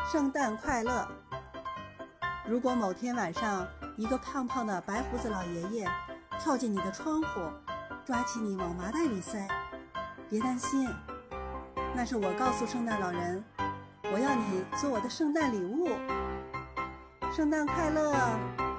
圣诞快乐！如果某天晚上，一个胖胖的白胡子老爷爷跳进你的窗户，抓起你往麻袋里塞，别担心，那是我告诉圣诞老人，我要你做我的圣诞礼物。圣诞快乐！